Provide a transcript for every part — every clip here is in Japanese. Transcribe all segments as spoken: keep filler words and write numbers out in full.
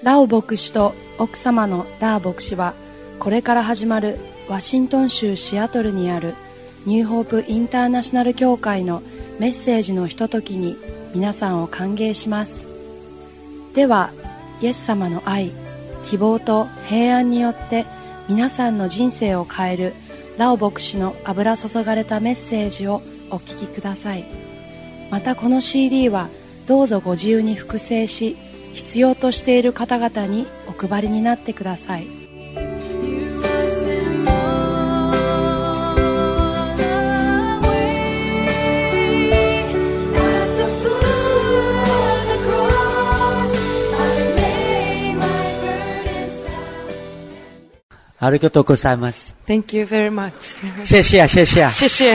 ラオ牧師と奥様のダー牧師は、これから始まるワシントン州シアトルにあるニューホープインターナショナル教会のメッセージのひとときに皆さんを歓迎します。では、イエス様の愛、希望と平安によって皆さんの人生を変えるラオ牧師の油注がれたメッセージをお聞きください。またこの シーディー はどうぞご自由に複製し、必要としている方々にお配りになってください。 ありがとうございます。 Thank you very much. 谢谢谢谢谢谢。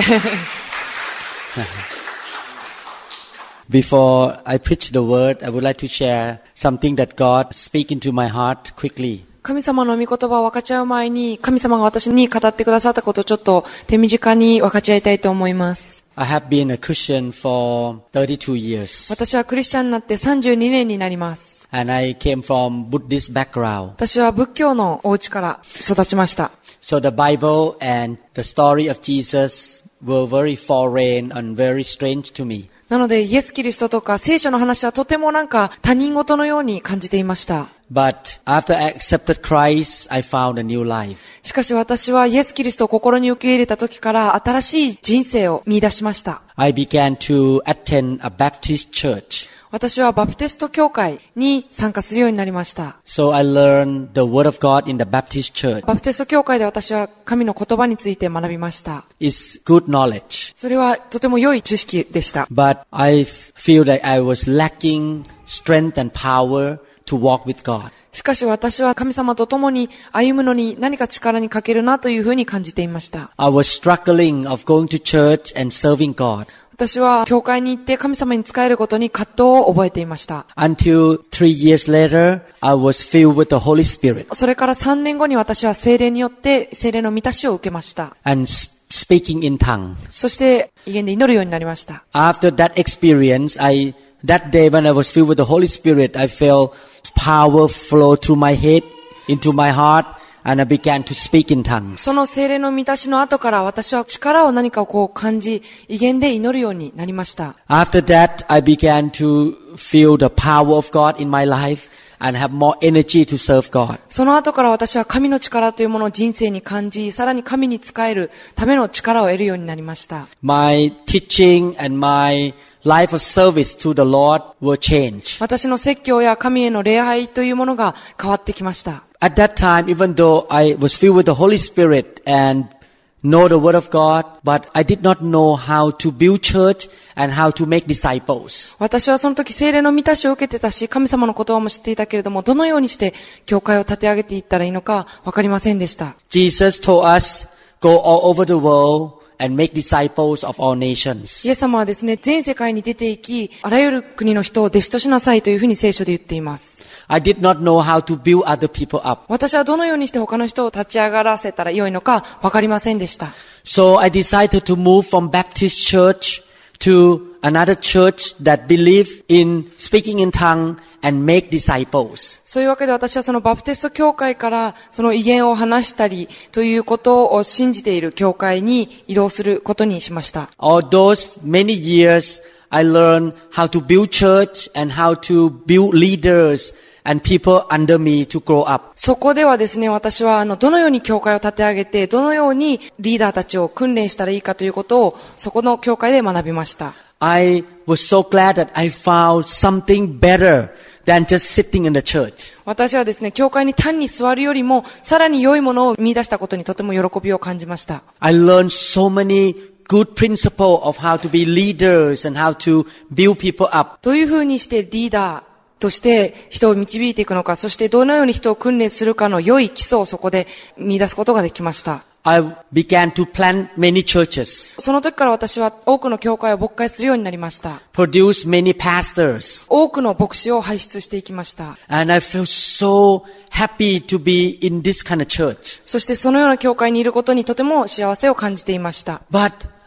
Before I preach the word, I would like to share something that God speak into my heart quickly. 神様の御言葉を分かち合う前に、神様が私に語ってくださったことをちょっと手短に分かち合いたいと思います。 I have been a Christian for thirty-two years. 私はクリスチャンになってさんじゅうにねんになります。 And I came from Buddhist background. 私は仏教のお家から育ちました。 So the Bible and the story of Jesus were very foreign and very strange to me. なのでイエス・キリストとか聖書の話はとてもなんか他人事のように感じていました。 But after I accepted Christ, I found a new life. しかし私はイエス・キリストを心に受け入れた時から新しい人生を見出しました。 I began to attend a Baptist church. 私はバプテスト教会に参加するようになりました。 So I learned the word of God in the Baptist church. バプテスト教会で私は神の言葉について学びました。 It's good knowledge. それはとても良い知識でした。 But I feel that I was lacking strength and power to walk with God. しかし私は神様と共に歩むのに何か力に欠けるなというふうに感じていました。 I was struggling of going to church and serving God. 私は教会に行って神様に仕えることに葛藤を覚えていました。 Until three years later, I was filled with the Holy Spirit. それからさんねんごに私は聖霊によって聖霊の満たしを受けました。 And speaking in tongue. そして威厳で祈るようになりました。 After that experience, I that day when I was filled with the Holy Spirit, I felt power flow through my head into my heart.And I began to speak in tongues. その聖霊の満たしの後から私は力を何かをこう感じ、威厳で祈るようになりました。 After that, I began to feel the power of God in my life and have more energy to serve God. その後から私は神の力というものを人生に感じ、さらに神に仕えるための力を得るようになりました。 My teaching and my life of service to the Lord were changed. 私の説教や神への礼拝というものが変わってきました。 At that time, even though I was filled with the Holy Spirit and know the Word of God, but I did not know how to build church and how to make disciples. 私はその時聖霊の満たしを受けてたし、神様の言葉も知っていたけれども、どのようにして教会を立て上げていったらいいのかわかりませんでした。 Jesus told us, go all over the world.And make disciples of all nations. イエス様はですね、全世界に出て行き、あらゆる国の人を弟子としなさいというふうに聖書で言っています。 I did not know how to build other people up. 私はどのようにして他の人を立ち上がらせたら良いのかわかりませんでした。 So I decided to move from Baptist church to another church that believe in speaking in tongue and make disciples. そういうわけで私はそのバプテスト教会からその威厳を話したりということを信じている教会に移動することにしました。 All those many years I learned how to build church and how to build leaders and people under me to grow up. そこではですね、私はあのどのように教会を立て上げて、どのようにリーダーたちを訓練したらいいかということをそこの教会で学びました。 I was so glad that I found something better than just sitting in the church. 私はですね、教会に単に座るよりもさらに良いものを見出したことにとても喜びを感じました。 I learned so many good principles of how to be leaders and how to build people up. どういうふうにしてリーダーとして人を導いていくのか、そしてどのように人を訓練するかの良い基礎をそこで見出すことができました。 I began to plant many churches. その時から私は多くの教会を牧会するようになりました。 Produce many pastors. 多くの牧師を輩出していきました。 And I feel so happy to be in this kind of church. そしてそのような教会にいることにとても幸せを感じていました。 But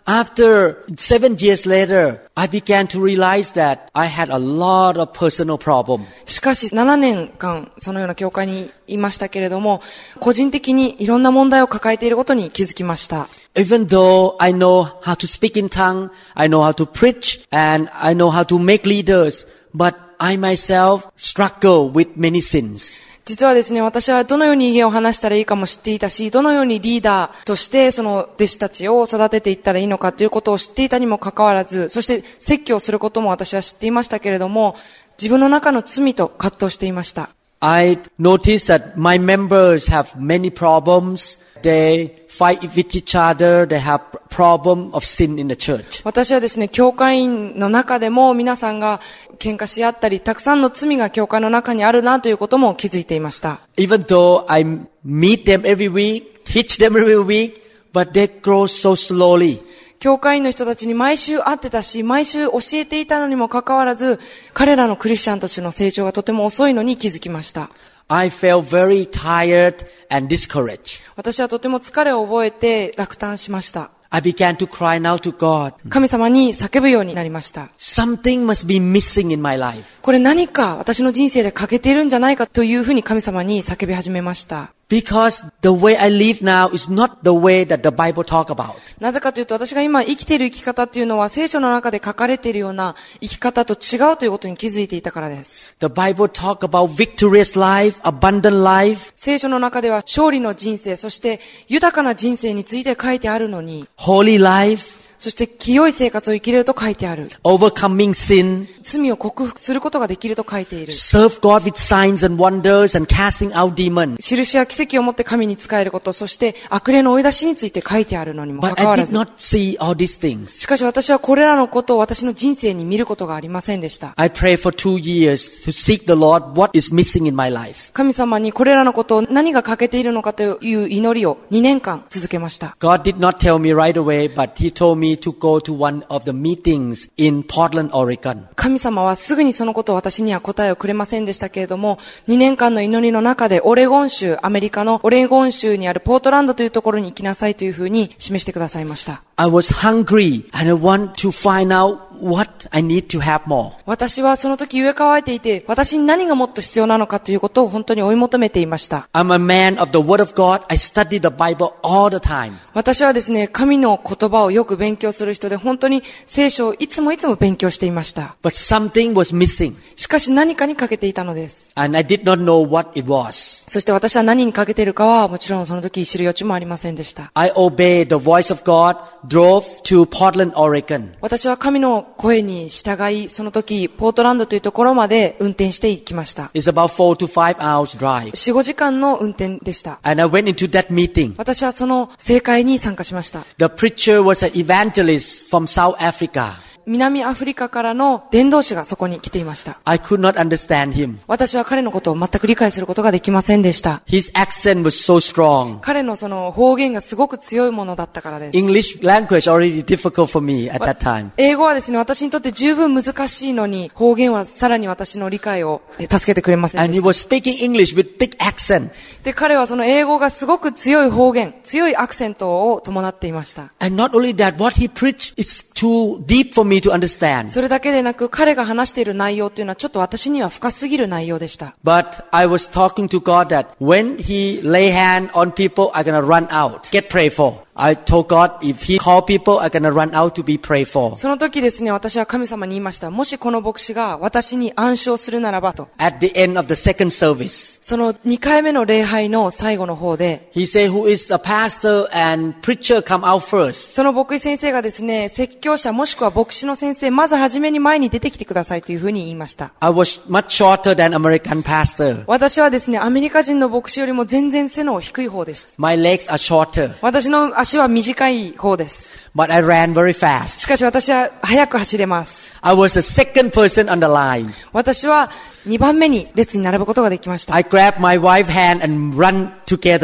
After seven years later, I began to realize that I had a lot of personal problems. しかしななねんかんそのような教会にいましたけれども、個人的にいろんな問題を抱えていることに気づきました。 Even though I know how to speak in tongue, I know how to preach, and I know how to make leaders, but I myself struggle with many sins. 実はですね、私はどのように意見を話したらいいかも知っていたし、どのようにリーダーとしてその弟子たちを育てていったらいいのかということを知っていたにもかかわらず、そして説教することも私は知っていましたけれども、自分の中の罪と葛藤していました。 I noticed that my members have many problems. They fight with each other. They have problem of sin in the church. 私はですね、教会員の中でも皆さんが喧嘩し合ったり、たくさんの罪が教会の中にあるなということも気づいていました。 Even though I meet them every week, teach them every week, but they grow so slowly. 教会員の人たちに毎週会ってたし、毎週教えていたのにもかかわらず、彼らのクリスチャンとしての成長がとても遅いのに気づきました。 I felt very tired and discouraged. 私はとても疲れを覚えて落胆しました。 I began to cry out to God. 神様に叫ぶようになりました。 Something must be missing in my life. これ何か私の人生で欠けているんじゃないかというふうに神様に叫び始めました。 Because the way I live now is not the way that the Bible talk about. なぜかというと、私が今生きている生き方っていうのは聖書の中で書かれているような生き方と違うということに気づいていたからです。 The Bible talk about victorious life, abundant life. 聖書の中では勝利の人生、そして豊かな人生について書いてあるのに、 Holy life. そして清い生活を生きれると書いてある。 Overcoming sin. 罪を克服することができると書いている。 Serve God with signs and wonders and casting out demons. 印や奇跡をもって神に仕えること、そして悪霊の追い出しについて書いてあるのにもか But かわ I ら did ず。 not see all these things. しかし私はこれらのことを私の人生に見ることがありませんでした。 I prayed for two years to seek the Lord what is missing in my life. 神様にこれらのことを何が欠けているのかという祈りをにねんかん続けました。 God did not tell me right away, but He told me to go to one of the meetings in Portland, Oregon. 神様はすぐにそのことを私には答えをくれませんでしたけれども、にねんかんの祈りの中でオレゴン州、アメリカのオレゴン州にあるポートランドというところに行きなさいというふうに示してくださいました。 I was hungry and I want to find out what I need to have more. 私はその時飢え渇いていて、私に何がもっと必要なのかということを本当に追い求めていました。 I'm a man of the Word of God. I study the Bible all the time. 私はですね、神の言葉をよく勉強する人で、本当に聖書をいつもいつも勉強していました。 But something was missing. しかし何かに欠けていたのです。 And I did not know what it was. そして私は何に欠けているかはもちろんその時知る余地もありませんでした。 I obeyed the voice of God, drove to Portland, Oregon. 私は神の声に従い、その時ポートランドというところまで運転していきました。 It's about four to five hours drive. よん、ごじかんの運転でした。 And I went into that meeting. 私はその聖会に参加しました。 The preacher was an evangelist from South Africa. 南アフリカからの伝道師がそこに来ていました。 I could not understand him. 私は彼のことを全く理解することができませんでした。 His accent was so strong. 彼のその方言がすごく強いものだったからです。 English language already difficult for me at that time. 英語はですね、私にとって十分難しいのに、方言はさらに私の理解を助けてくれません And で he した。 was speaking English with big accent. で、彼はその英語がすごく強い方言、強いアクセントを伴っていました。 And not only that, what he preached is too deep for me to understand. それだけでなく、彼が話している内容というのはちょっと私には深すぎる内容でした。 But I was talking to God that when he lay hand on people, I'm gonna run out, get prayed for. I told God, if he call people, I'm gonna run out to be prayed for. その時ですね、私は神様に言いました。もしこの牧師が私に暗唱するならばと。 At the end of the second service, そのにかいめの礼拝の最後の方で、 he said, who is a pastor and preacher come out first. その牧師先生がですね、説教者もしくは牧師の先生、まずはじめに前に出てきてくださいというふうに言いました。 I was much shorter than American pastor. 私はですね、アメリカ人の牧師よりも全然背の低い方です。 My legs are shorter. 私の足は短い方です。 But I ran very fast. しかし私は早く走れます。 I was the second person on the line. 私はにばんめに列に並ぶことができました。 I grabbed my wife's hand and run together.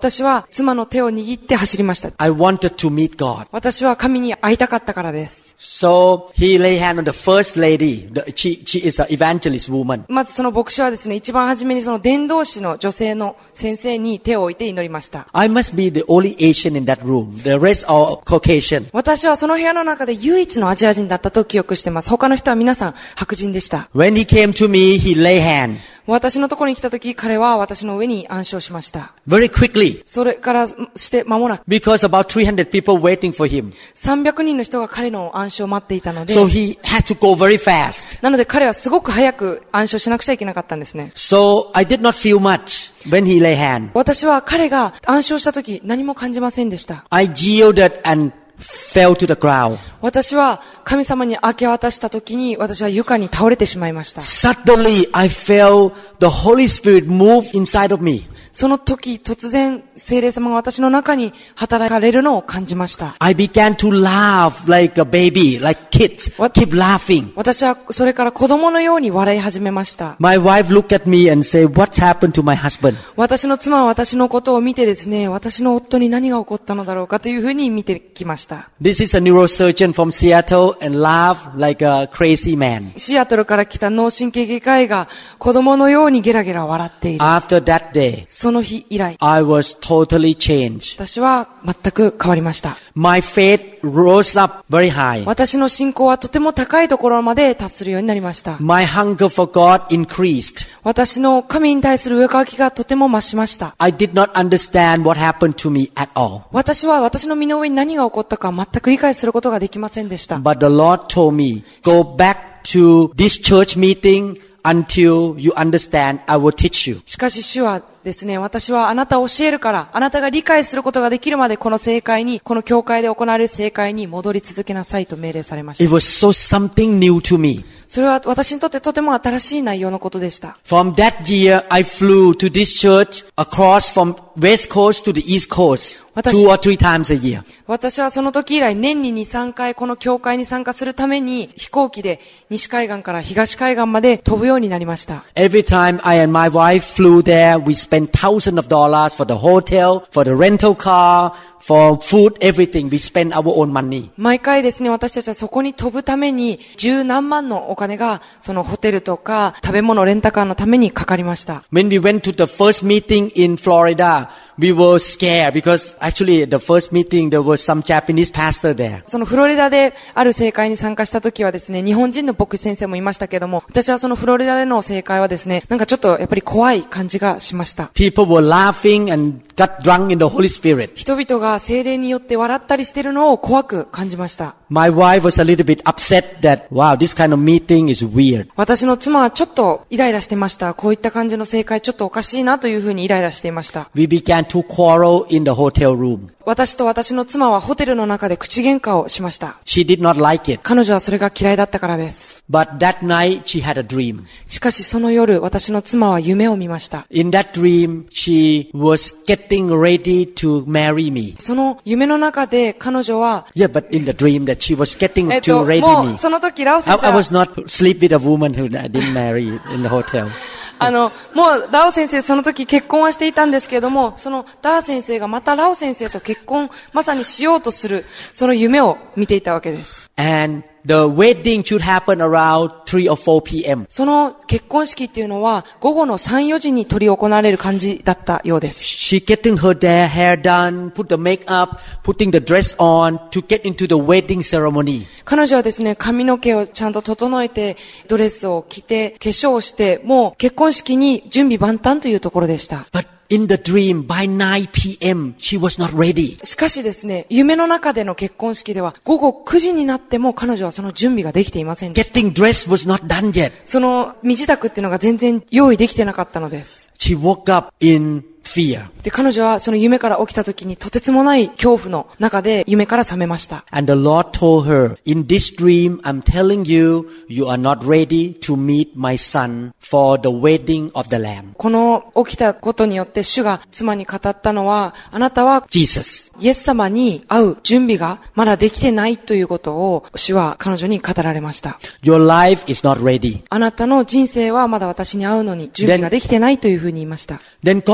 私は妻の手を握って走りました。 I wanted to meet God. 私は神に会いたかったからです。 So he lay hand on the first lady. The, she, she is an evangelist woman. まずその牧師はですね、一番初めにその伝道師の女性の先生に手を置いて祈りました。 I must be the only Asian in that room. The rest are Caucasian. 私はその部屋の中で唯一のアジア人だったと記憶しています。他の人は皆さん白人でした。 When he came to me, he lay hand. 私のところに来たとき、彼は私の上に暗唱しました。 Very quickly. それからして間もなく。 Because about three hundred people waiting for him. さんびゃくにんの人が彼の暗唱を待っていたので。 So he had to go very fast. なので彼はすごく早く暗唱しなくちゃいけなかったんですね。 So I did not feel much when he lay hand. 私は彼が暗唱したとき何も感じませんでした。 I yielded and fell to the ground. 私は神様に明け渡したときに私は床に倒れてしまいました。 Suddenly I felt the Holy Spirit move inside of me. その時突然聖霊様が私の中に働かれるのを感じました。 I began to laugh like a baby, like kids. Keep laughing. 私はそれから子供のように笑い始めました。 My wife looked at me and said, "What's happened to my husband?" 私の妻は私のことを見てですね、私の夫に何が起こったのだろうかというふうに見てきました。 This is a neurosurgeon from Seattle and laughed like a crazy man. シアトルから来た脳神経外科医が子供のようにゲラゲラ笑っている。 After that day, その日以来、 I was totally changed. 私は全く変わりました。 My faith rose up very high. 私の信仰はとても高いところまで達するようになりました。 My hunger for God increased. 私の神に対する上かきがとても増しました。 I did not understand what happened to me at all. 私は私の身の上に何が起こったか全く理解することができませんでした。 But the Lord told me, go back to this church meeting until you understand, I will teach you. しかし主はですね、私はあなたを教えるから、あなたが理解することができるまでこの聖会に、この教会で行われる聖会に戻り続けなさいと命令されました。 It was so something new to me. それは私にとってとても新しい内容のことでした。 From that year, I flew to this church across from West Coast to the East Coast two or three times a year. 私はその時以来年にに、さんかいこの教会に参加するために飛行機で西海岸から東海岸まで飛ぶようになりました。 Every time I and my wife flew there, we spent thousands of dollars for the hotel, for the rental car, for food, everything. We spend our own money. 毎回ですね、私たちはそこに飛ぶために十何万のお金がそのホテルとか食べ物レンタカーのためにかかりました。 When we went to the first meeting in Florida, we were scared because actually the first meeting there was some Japanese pastor there. そのフロリダである聖会に参加した時はですね、日本人の牧師先生もいましたけども、私はそのフロリダでの聖会はですね、なんかちょっとやっぱり怖い感じがしました。 People were laughing and got drunk in the Holy Spirit. 人々が聖霊によって笑ったりしているのを怖く感じました。 My wife was a little bit upset that, wow, this kind of meeting is weird. 私の妻はちょっとイライラしてました。こういった感じの聖会ちょっとおかしいなというふうにイライラしていました。 We began to quarrel in the hotel room. 私と私の妻はホテルの中で口喧嘩をしました。 She did not like it. 彼女はそれが嫌いだったからです。 But that night she had a dream. しかしその夜、私の妻は夢を見ました。 In that dream, she was getting ready to marry me. その夢の中で彼女は、 Yeah, but in the dream that she was getting えっ to と、 ready も me. うその時ラオ先 I, 生 I は was not sleep with a woman who I didn't marry in the hotel. あの、もうラオ先生その時結婚はしていたんですけれども、そのダー先生がまたラオ先生と結婚まさにしようとする、その夢を見ていたわけです。 And the wedding should happen around three or four p.m. その結婚式っていうのは午後のさん、よじに執り行われる感じだったようです。 She getting her hair done, put the makeup, putting the dress on to get into the wedding ceremony. 彼女はですね、髪の毛をちゃんと整えて、ドレスを着て、化粧をして、もう結婚式に準備万端というところでした。 But in the dream, by nine p.m., she was not ready. しかしですね、夢の中での結婚式では、午後くじになっても彼女はその準備ができていませんでした。 Getting dressed was not done yet. その身支度っていうのが全然用意できてなかったのです。 She woke up in fear. で、彼女はその夢から起きた時にとてつもない恐怖の中で夢から覚めました。 And the Lord told her, in this dream, I'm telling you, you are not ready to meet my son for the wedding of the Lamb. この起きたことによって主が妻に語ったのは、あなたは Jesus. イエス様に会う準備がまだできてないということを主は彼女に語られました。 Your life is not ready. あなたの人生はまだ私に会うのに準備ができてないというふうに言いました。 Then God reminded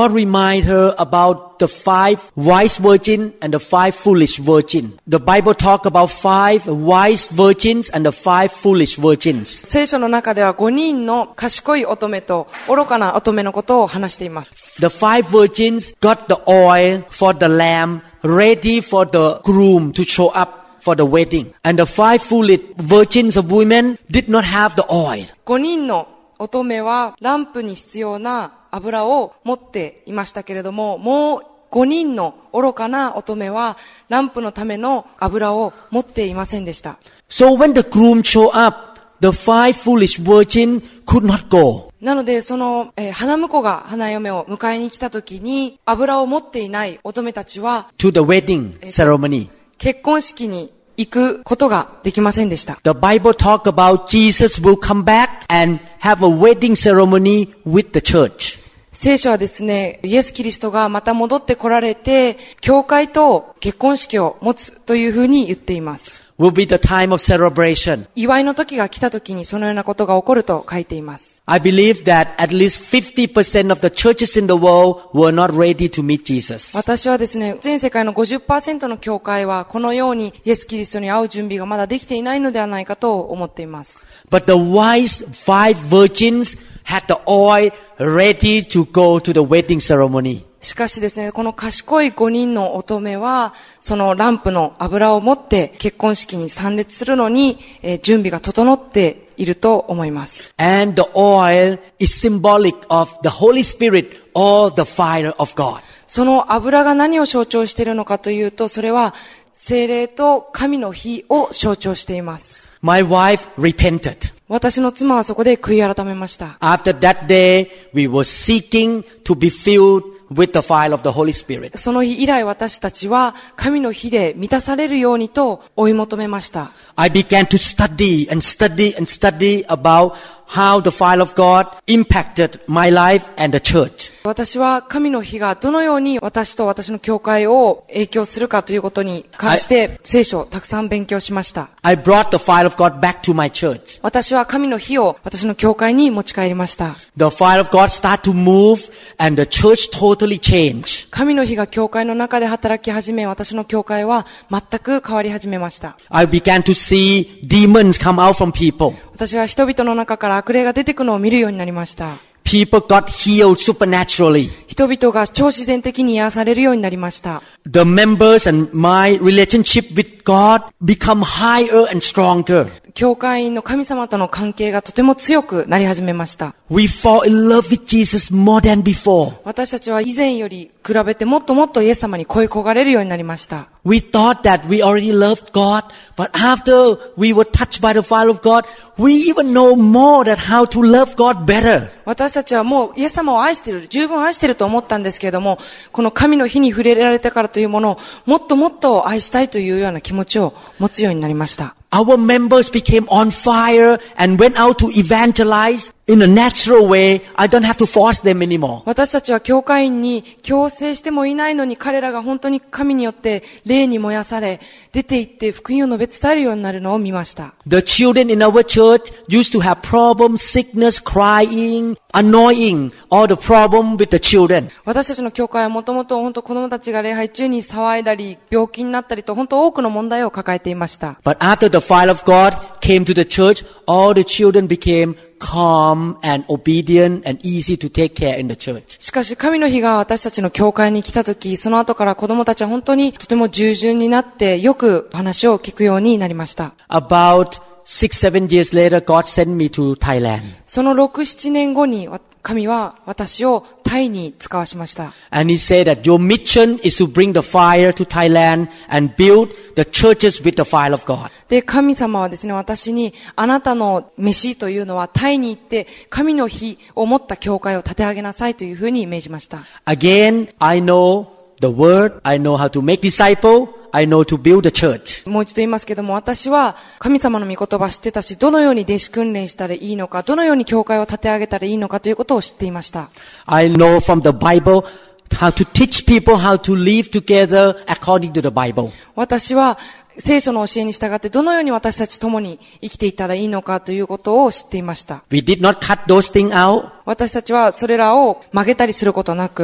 remind her about the five wise virgins and the five foolish virgins. The Bible talk about five wise virgins and the five foolish virgins. 聖書の中ではごにんの賢い乙女と愚かな乙女のことを話しています。 The five virgins got the oil for the lamb ready for the groom to show up.For the wedding. And the five foolish virgins of women did not have the oil. ごにんの乙女はランプに必要な油を持っていましたけれども、もうごにんの愚かな乙女はランプのための油を持っていませんでした。 So when the groom showed up, the five foolish virgins could not go. なので、その、えー、花婿が花嫁を迎えに来た時に、油を持っていない乙女たちは、 to the wedding ceremony. 結婚式に行くことができませんでした。 The Bible talk about Jesus will come back and have a wedding ceremony with the church. 聖書はですね、イエス・キリストがまた戻って来られて、教会と結婚式を持つというふうに言っています。 Will be the time of celebration. 祝いの時が来た時にそのようなことが起こると書いています。 I believe that at least fifty percent of the churches in the world were not ready to meet Jesus. 私はですね、全世界の ごじゅっパーセント の教会はこのようにイエス・キリストに会う準備がまだできていないのではないかと思っています。 But the wise five virgins had the oil ready to go to the wedding ceremony. しかしですね、この賢いごにんの乙女は、そのランプの油を持って結婚式に参列するのに、えー、準備が整っていると思います。 And the oil is symbolic of the Holy Spirit or the fire of God. その油が何を象徴しているのかというと、それは聖霊と神の火を象徴しています。 My wife repented. 私の妻はそこで悔い改めました。 After that day, we were seeking to be filled with the fire of the Holy Spirit. その日以来私たちは神の火で満たされるようにと追い求めました。 I began to study and study and study about how the fire of God impacted my life and the church. 私は神の火がどのように私と私の教会を影響するかということに関して聖書をたくさん勉強しました。 I brought the fire of God back to my church. 私は神の火を私の教会に持ち帰りました。 The fire of God started to move and the church totally changed. 神の火が教会の中で働き始め、私の教会は全く変わり始めました。 I began to see demons come out from people. 私は人々の中から悪霊が出てくるのを見るようになりました。 People got healed supernaturally. 人々が超自然的に癒されるようになりました。 The members and my relationship with God become higher and stronger. 教会員の神様との関係がとても強くなり始めました。 We fall in love with Jesus more than before. 私たちは以前より比べてもっともっとイエス様に恋焦がれるようになりました。 We thought that we already loved God, but after we were touched by the fire of God, we even know more that how to love God better. 私たちはもうイエス様を愛している、十分愛していると思ったんですけれども、この神の火に触れられたからというものをもっともっと愛したいというような気持ちを持つようになりました。 Our members became on fire and went out to evangelize in a natural way. I don't have to force them anymore. 私たちは教会員に強制してもいないのに彼らが本当に神によって霊に燃やされ、出て行って福音を述べ伝えるようになるのを見ました。 The children in our church used to have problems, sickness, crying, annoying, all the problem with the children. 私たちの教会はもともと本当子供たちが礼拝中に騒いだり、病気になったりと本当多くの問題を抱えていました。 But after the fire of God came to the church, all the children became calm and obedient and easy to take care in the church. しかし神の火が私たちの教会に来たとき、その後から子供たちは本当にとても従順になってよく話を聞くようになりました。 About six, seven years later, God sent me to Thailand. そのろく、ななねんごに神は私をタイに使わしました。 And he said that your mission is to bring the fire to Thailand and build the churches with the fire of God. で、神様はですね、私にあなたの飯というのはタイに行って神の火を持った教会を立て上げなさいというふうに命じました。 Again, I know the word, I know how to make disciples.I know to build a church. もう一度言いますけども、私は神様の御言葉知ってたし、どのように弟子訓練したらいいのか、どのように教会を立て上げたらいいのかということを知っていました。 I know from the Bible how to teach people how to live together according to the Bible. 私は聖書の教えに従ってどのように私たち共に生きていったらいいのかということを知っていました。 We did not cut those things out. 私たちはそれらを曲げたりすることなく、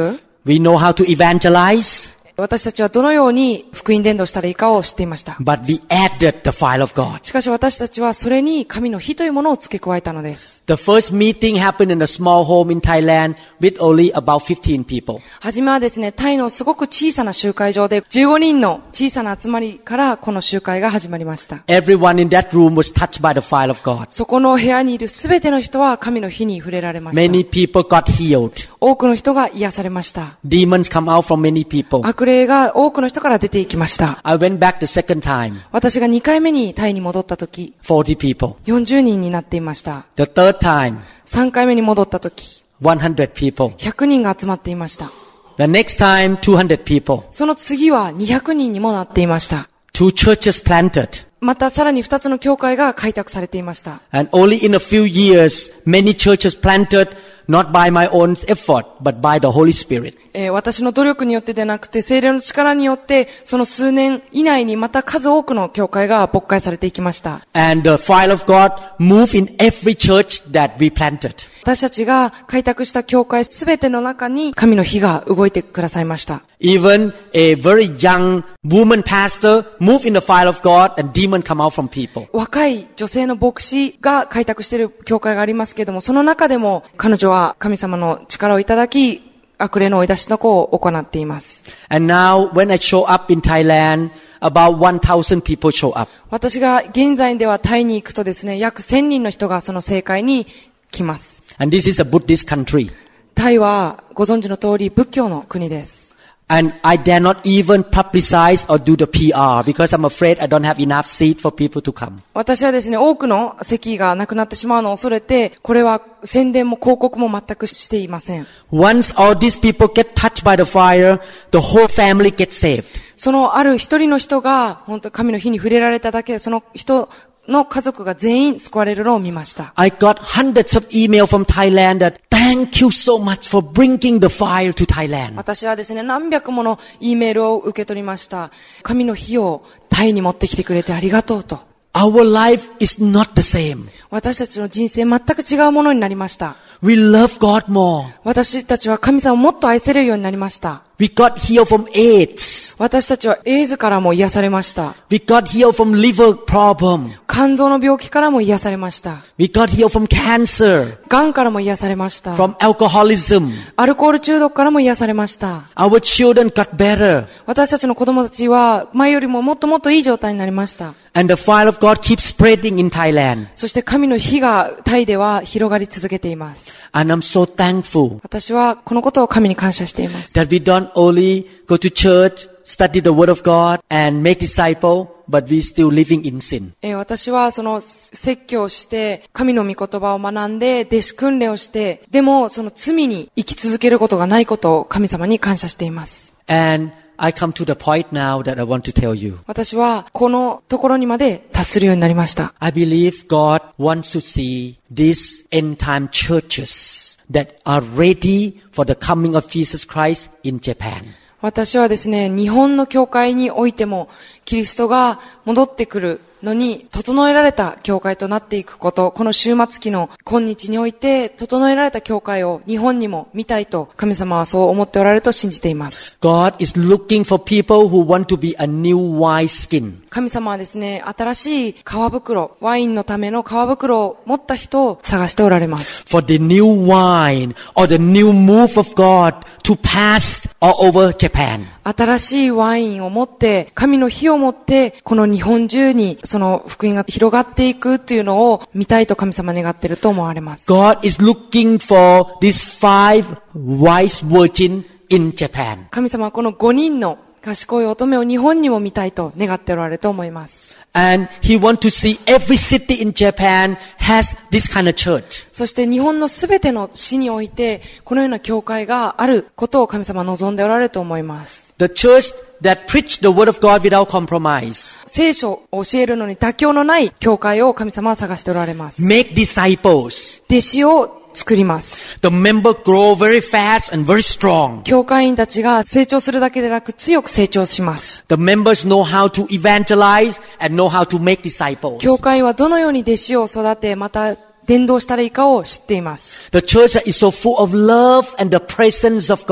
We know how to evangelize, 私たちはどのように福音伝道したらいいかを知っていました。 but we added the fire of God. しかし私たちはそれに神の火というものを付け加えたのです。 The first meeting happened in a small home in Thailand with only about fifteen people. はじめはですね、タイのすごく小さな集会場でじゅうごにんの小さな集まりからこの集会が始まりました。 Everyone in that room was touched by the fire of God. そこの部屋にいるすべての人は神の火に触れられました。 Many people got healed. 多くの人が癒されました。 Demons come out from many people. 悪霊が多くの人から出ていきました。 I went back the second time. 私がにかいめにタイに戻った時、 forty people. よんじゅうにんになっていました。 The third time. さんかいめに戻った時、 one hundred people. ひゃくにんが集まっていました。 The next time, two hundred people. その次はにひゃくにんにもなっていました。 Two churches planted. またさらにふたつの教会が開拓されていました。 And only in a few years, many churches planted, not by my own effort, but by the Holy Spirit. えー、私の努力によってでなくて、聖霊の力によって、その数年以内にまた数多くの教会が勃開されていきました。 And the fire of God moved in every church that we planted. 私たちが開拓した教会すべての中に神の火が動いてくださいました。 Even a very young woman pastor moved in the fire of God and demons come out from people. 若い女性の牧師が開拓している教会がありますけれども、その中でも彼女は神様の力をいただき、悪霊の追い出しの子を行っています。 And now when I show up in Thailand, about one thousand people show up. 私が現在ではタイに行くとですね、約せんにんの人がその聖会に来ます。 And this is a Buddhist country. タイはご存知の通り仏教の国です。 And I dare not even publicize or do the P R because I'm afraid I don't have enough seat for people to come. 私はですね、多くの席がなくなってしまうのを恐れて、これは宣伝も広告も全くしていません。 Once all these people get touched by the fire, the whole family gets saved. そのある一人の人が、本当神の火に触れられただけで、その人の家族が全員救われるのを見ました。 I got hundreds of emails from Thailand that thank you so much for bringing the fire to Thailand. 私はですね、何百もの E メールを受け取りました。神の火をタイに持ってきてくれてありがとうと。 Our life is not the same. 私たちの人生全く違うものになりました。 We love God more. 私たちは神様をもっと愛せるようになりました。 We got healed from AIDS. 私たちはエイズからも癒されました。 We got healed from liver problem. 肝臓の病気からも癒されました。 We got healed from cancer. 癌からも癒されました。 From alcoholism. アルコール中毒からも癒されました。 Our children got better. 私たちの子供たちは前よりももっともっといい状態になりました。 And the fire of God keeps spreading in Thailand. そして神の火がタイでは広がり続けています。 And I'm so thankful 私はこのことを神に感謝しています。 that we don't only go to church, study the word of God, and make disciples, but we still living in sin. えー、私はその説教をして神の御言葉を学んで弟子訓練をしてでもその罪に生き続けることがないことを神様に感謝しています。 And I come to the point now that I want to tell you. 私はこのところにまで達するようになりました。 I believe God wants to see these end time churches that are ready for the coming of Jesus Christ in Japan. 私はですね、日本の教会においてもキリストが戻ってくるのに整えられた教会となっていくこと、この終末期の今日において整えられた教会を日本にも見たいと神様はそう思っておられると信じています。 God is looking for people who want to be a new wineskin. 神様はですね、新しい皮袋、ワインのための皮袋を持った人を探しておられます。 For the new wine or the new move of God to pass all over Japan. 新しいワインを持って、神の火を持って、この日本中にその福音が広がっていくというのを見たいと神様願っていると思われます。 God is looking for these five wise virgins in Japan. 神様はこのごにんの賢い乙女を日本にも見たいと願っておられると思います。 And He wants to see every city in Japan has this kind of church. そして日本のすべての市において、このような教会があることを神様は望んでおられると思います。 The church that preach the word of God without compromise. 聖書を教えるのに妥協のない教会を神様は探しておられます。 Make disciples. 弟子を作ります。 The members grow very fast and very strong. 教会員たちが成長するだけでなく強く成長します。 The members know how to evangelize and know how to make disciples. 教会はどのように弟子を育て、また伝道したらいいかを知っています。 The church is so full of love and the presence of God.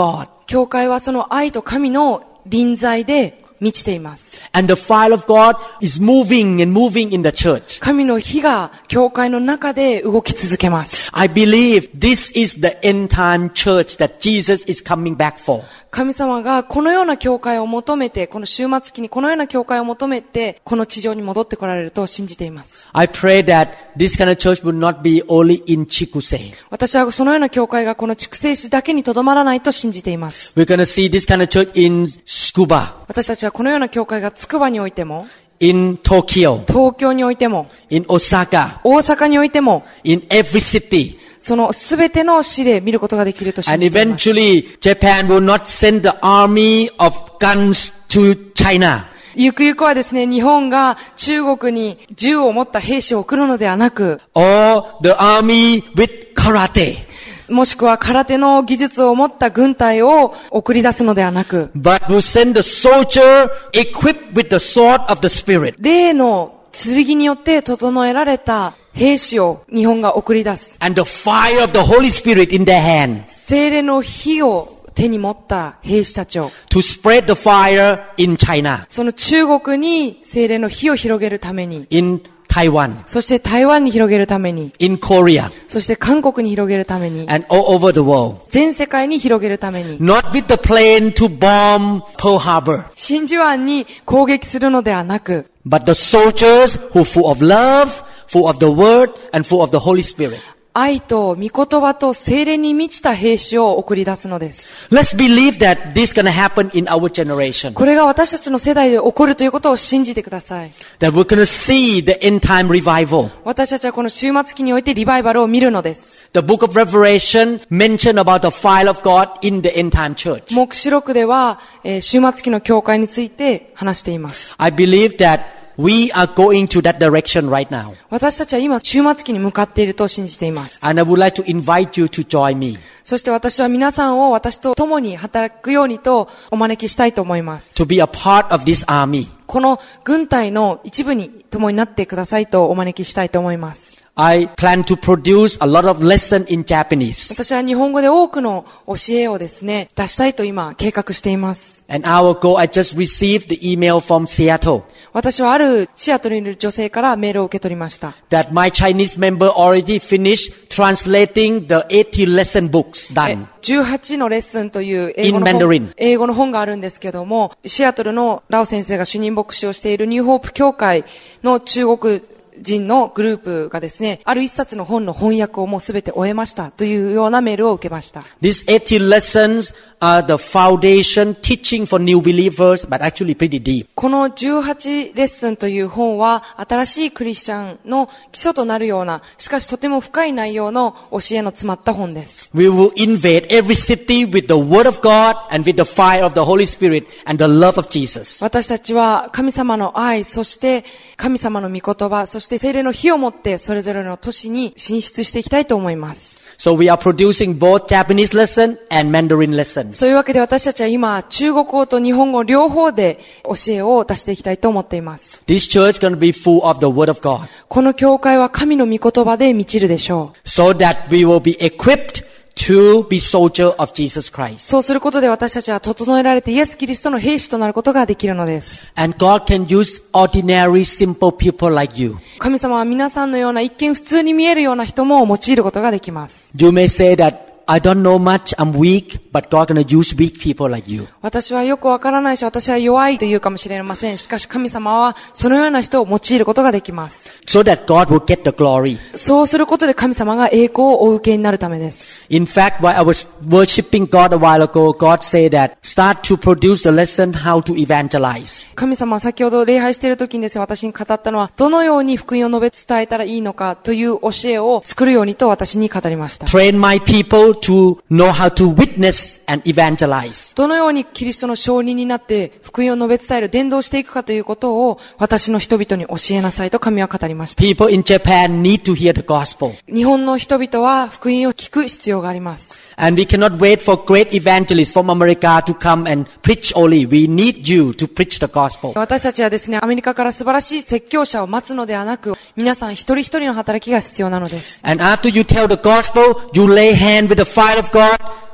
教会はその愛と神の臨在で満ちています。 And the fire of God is moving and moving in the church. 神の火が教会の中で動き続けます。 I believe this is the end time church that Jesus is coming back for. 神様がこのような教会を求めて、この終末期にこのような教会を求めて、この地上に戻ってこられると信じています。 I pray that this kind of church would not be only in Chikuse. 私はそのような教会がこの筑西市だけにとどまらないと信じています。 We're going to see this kind of church in Tsukuba. 私たちはこのような教会がつくばにおいても、 in Tokyo, 東京においても、 in Osaka, 大阪においても、 in every city. そのすべての市で見ることができると信 And じています。 eventually, Japan will not send the army of guns to China. ゆくゆくはですね、日本が中国に銃を持った兵士を送るのではなく、 Or the army with karate. もしくは空手の技術を持った軍隊を送り出すのではなく、 But will send the soldier equipped with the sword of the Spirit. 霊の剣によって整えられた兵士を日本が送り出す。 And the fire of the Holy Spirit in their hand. 聖霊の火を手に持った兵士たちを To spread the fire in China. その中国に聖霊の火を広げるために、 In Taiwan. そして台湾に広げるために、 In Korea. そして韓国に広げるために、 And all over the world. 全世界に広げるために、 Not with the plane to bomb Pearl Harbor. 真珠湾に攻撃するのではなく、 But the soldiers who are full of love, full of the word, and full of the Holy Spirit. 愛と御言葉と聖霊に満ちた兵士を送り出すのです。 Let's believe that this is going to happen in our generation. これが私たちの世代で起こるということを信じてください。 That we're going to see the end time revival. 私たちはこの終末期においてリバイバルを見るのです。 The book of Revelation mentioned about the fire of God in the end time church. 黙示録では、えー、終末期の教会について話しています。 I believe that we are going to that direction right now. 私たちは今終末期に向かっていると信じています。 And I would like to invite you to join me そして私は皆さんを私と共に働くようにとお招きしたいと思います。 to be a part of this army. この軍隊の一部に共になってくださいとお招きしたいと思います。 I plan to produce a lot of lesson in Japanese. 私は日本語で多くの教えをですね、出したいと今計画しています。 An hour ago, I just received the email from Seattle 私はあるシアトルにいる女性からメールを受け取りました。 that my Chinese member already finished translating the eighteen lesson books え done. じゅうはちのレッスンという英語の In 本 Mandarin. 英語の本があるんですけども、シアトルのラオ先生が主任牧師をしているニューホープ教会の中国人のグループがですね、ある一冊の本の翻訳をもうすべて終えましたというようなメールを受けました。 These eighteen lessons are the foundation teaching for new believers, but actually pretty deep. このじゅうはちレッスンという本は新しいクリスチャンの基礎となるような、しかしとても深い内容の教えの詰まった本です。 We will invade every city with the word of God and with the fire of the Holy Spirit and the love of Jesus. 私たちは神様の愛、そして神様の御言葉、そして聖霊の火を持ってそれぞれの都市に進出していきたいと思います。 So we are producing both Japanese lesson and Mandarin lessons. そういうわけで私たちは今中国語と日本語両方で教えを出していきたいと思っています。 This church is going to be full of the word of God この教会は神の御言葉で満ちるでしょう。 so that we will be equipped to be soldier of Jesus Christ. そうすることで私たちは整えられてイエス・キリストの兵士となることができるのです。 And God can use ordinary, simple people like you. 神様は皆さんのような一見普通に見えるような人も用いることができます。 You may say that I don't know much, I'm weak, but God going to use weak people like you. 私はよくわからないし、私は弱いと言うかもしれません。しかし神様はそのような人を用いることができます。 So that God will get the glory. そうすることで神様が栄光をお受けになるためです。 In fact, while I was worshiping God a while ago, God said that start to produce the lesson how to evangelize. 神様は先ほど礼拝している時にですね、私に語ったのは、どのように福音を述べ伝えたらいいのかという教えを作るようにと私に語りました。 Train my people to know how to witness and evangelize. どのようにキリストの証人になって福音を述べ伝える、伝道していくかということを私の人々に教えなさいと神は語りました。 People in Japan need to hear the gospel. 日本の人々は福音を聞く必要があります。 And we cannot wait for great evangelists from America to come and preach only. We need you to preach the gospel. 私たちはですね、アメリカから素晴らしい説教者を待つのではなく、皆さん一人一人の働きが必要なのです。 And after you tell the gospel, you lay hand with the fire of God.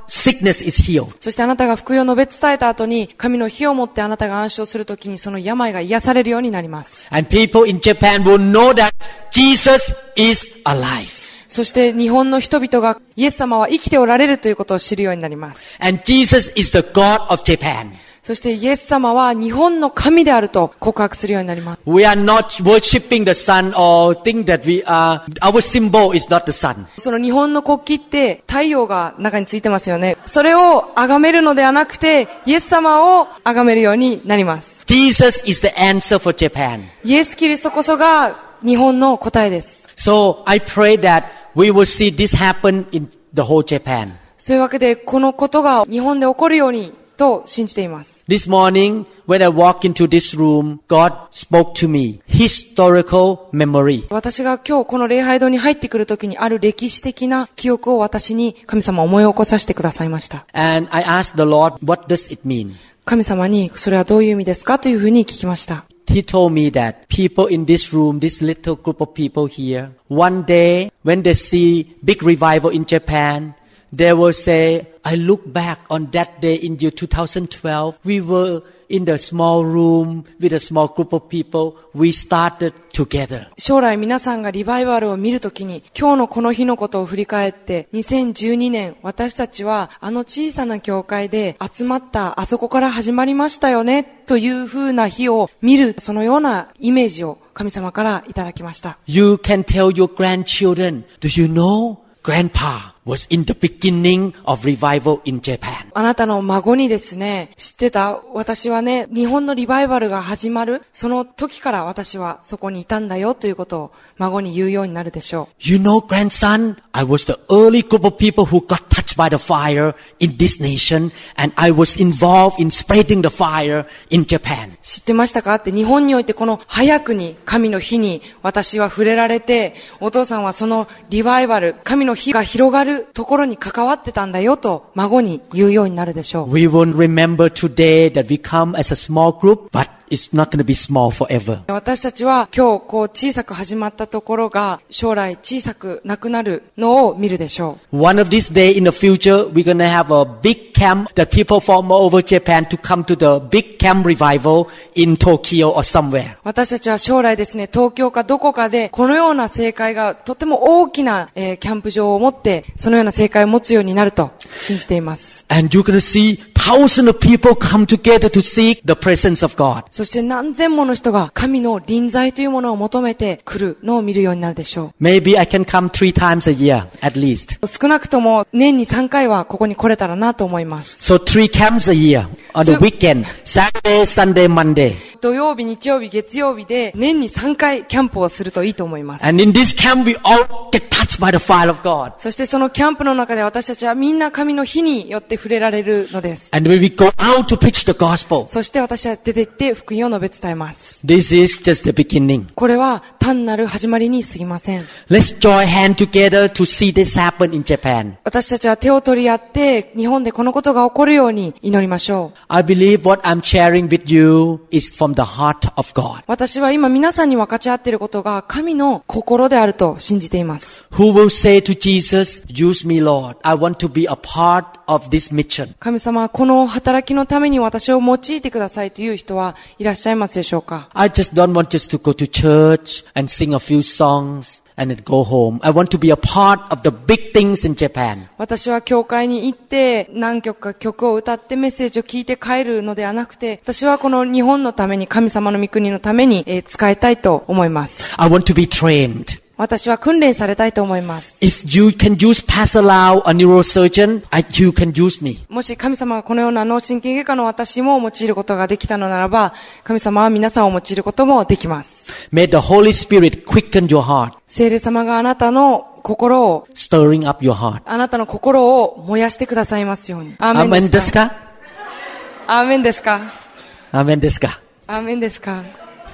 sickness is healed. そしてあなたが福音を述べ伝えた後に、神の火をもってあなたが暗唱するときにその病が癒されるようになります。 And people in Japan will know that Jesus is alive. そして日本の人々がイエス様は生きておられるということを知るようになります。 And Jesus is the God of Japan. そしてイエス様は日本の神であると告白するようになります。 We are not worshipping the sun or think that we are, our symbol is not the sun. その日本の国旗って太陽が中についてますよね。それを崇めるのではなくて、イエス様を崇めるようになります。 Jesus is the answer for Japan. イエス・キリストこそが日本の答えです。 So I pray that we will see this happen in the whole Japan. そういうわけで、このことが日本で起こるようにと信じています。 This morning, when I walk into this room, God spoke to me. Historical memory. 私が今日この礼拝堂に入ってくるときにある歴史的な記憶を私に神様思い起こさせてくださいました。 And I asked the Lord, what does it mean? 神様にそれはどういう意味ですかというふうに聞きました。 He told me that people in this room, this little group of people here, one day when they see big revival in Japan, they will say, I look back on that day in year twenty twelve. We were in the small room with a small group of people. We started together. 将来皆さんがリバイバルを見るときに、今日のこの日のことを振り返って、にせんじゅうにねん、私たちはあの小さな教会で集まったあそこから始まりましたよね、という風な日を見る、そのようなイメージを神様からいただきました。 You can tell your grandchildren, do you know?Grandpa was in the beginning of revival in Japan. あなたの孫にですね、知ってた？私はね、日本のリバイバルが始まる、その時から私はそこにいたんだよということを孫に言うようになるでしょう。 You know, grandson, I was the early group of people who got touched by the fire in this nation, and I was involved in spreading the fire in Japan. 知ってましたかって、日本においてこの早くに神の火に私は触れられて、お父さんはそのリバイバル、神の火が広がるところに関わってたんだよと孫に言うようになるでしょう。 We won't remember today that we come as a small group, but it's not going to be small forever. 私たちは今日こう小さく始まったところが将来小さくなくなるのを見るでしょう。 One of these days in the future, we're going to have a big camp that people from all over Japan to come to the big camp revival in Tokyo or somewhere. 私たちは将来ですね、東京かどこかでこのような聖会がとても大きな、えー、キャンプ場を持ってそのような聖会を持つようになると信じています。 And you're going to see thousands of people come together to seek the presence of God. そして何千もの人が神の臨在というものを求めて来るのを見るようになるでしょう。 Maybe I can come three times a year at least. 少なくとも年にさんかいはここに来れたらなと思います。 So three camps a year on the weekend, Saturday, Sunday, Monday. 土曜日、日曜日、月曜日で年にさんかいキャンプをするといいと思います。 And in this camp we all get touched by the fire of God. そしてそのキャンプの中で私たちはみんな神の火によって触れられるのです。 And when we go out to preach the gospel. そして私は出て行って福音を述べ伝えます。 This is just the beginning. これは単なる始まりに過ぎません。 Let's join hand together to see this happen in Japan. 私たちは手を取り合って日本でこのことが起こるように祈りましょう。 I believe what I'm sharing with you is from the heart of God. 私は今皆さんに分かち合っていることが神の心であると信じています。 Who will say to Jesus, use me, Lord. I want to be a part of this mission. 神様、この働きのために私を用いてくださいという人はいらっしゃいますでしょうか？ I just don't want just to go to church and sing a few songs and then go home. I want to be a part of the big things in Japan. 私は教会に行って何曲か曲を歌ってメッセージを聞いて帰るのではなくて、私はこの日本のために、神様の御国のために、えー、使いたいと思います。 I want to be trained. 私は訓練されたいと思います。 If you can use Pastor Lau, a neurosurgeon, I, you can use me. もし神様がこのような脳神経外科の私も用いることができたのならば、神様は皆さんを用いることもできます。 May the Holy Spirit quicken your heart. 聖霊様があなたの心を stirring up your heart. あなたの心を燃やしてくださいますように。アーメンですか？ アーメンですか？ アーメンですか？ アーメンですか？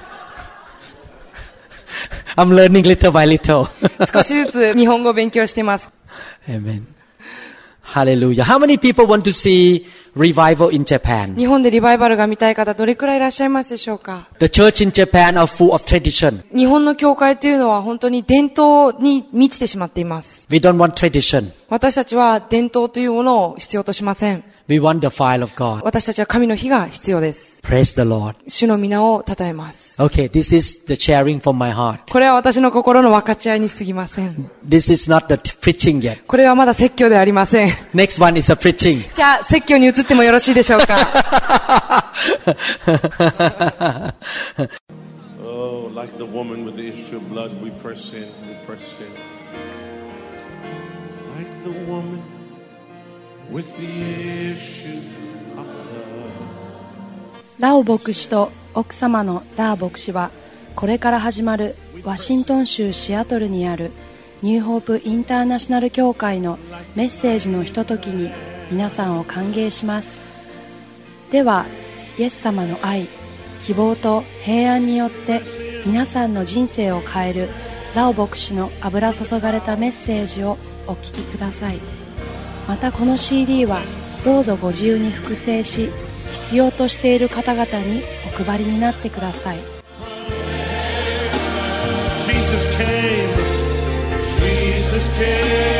I'm learning little by little. 少しずつ日本語を勉強しています。 Amen. Hallelujah. How many people want to see revival in Japan. 日本でリバイバルが見たい方どれくらいいらっしゃいますでしょうか？ The church in Japan are full of tradition. 日本の教会というのは本当に伝統に満ちてしまっています。 We don't want tradition. 私たちは伝統というものを必要としません。 We want the fire of God. 私たちは神の火が必要です。 Praise the Lord. 主の皆を称えます。 Okay, this is the sharing from my heart. これは私の心の分かち合いに過ぎません。 This is not the preaching yet. これはまだ説教ではありません。 Next one is a preaching. じゃあ説教に移ってもよろしいでしょうか？ Oh, like the woman with the issue of blood, we press in, we press in. Like the woman with the issue of blood. ラオ牧師と奥様のダー牧師は、これから始まるワシントン州シアトルにあるニューホープインターナショナル教会のメッセージのひとときに皆さんを歓迎します。では、イエス様の愛、希望と平安によって皆さんの人生を変えるラオ牧師の油注がれたメッセージをお聞きください。またこの シーディー はどうぞご自由に複製し、必要としている方々にお配りになってください。 Jesus came, Jesus came.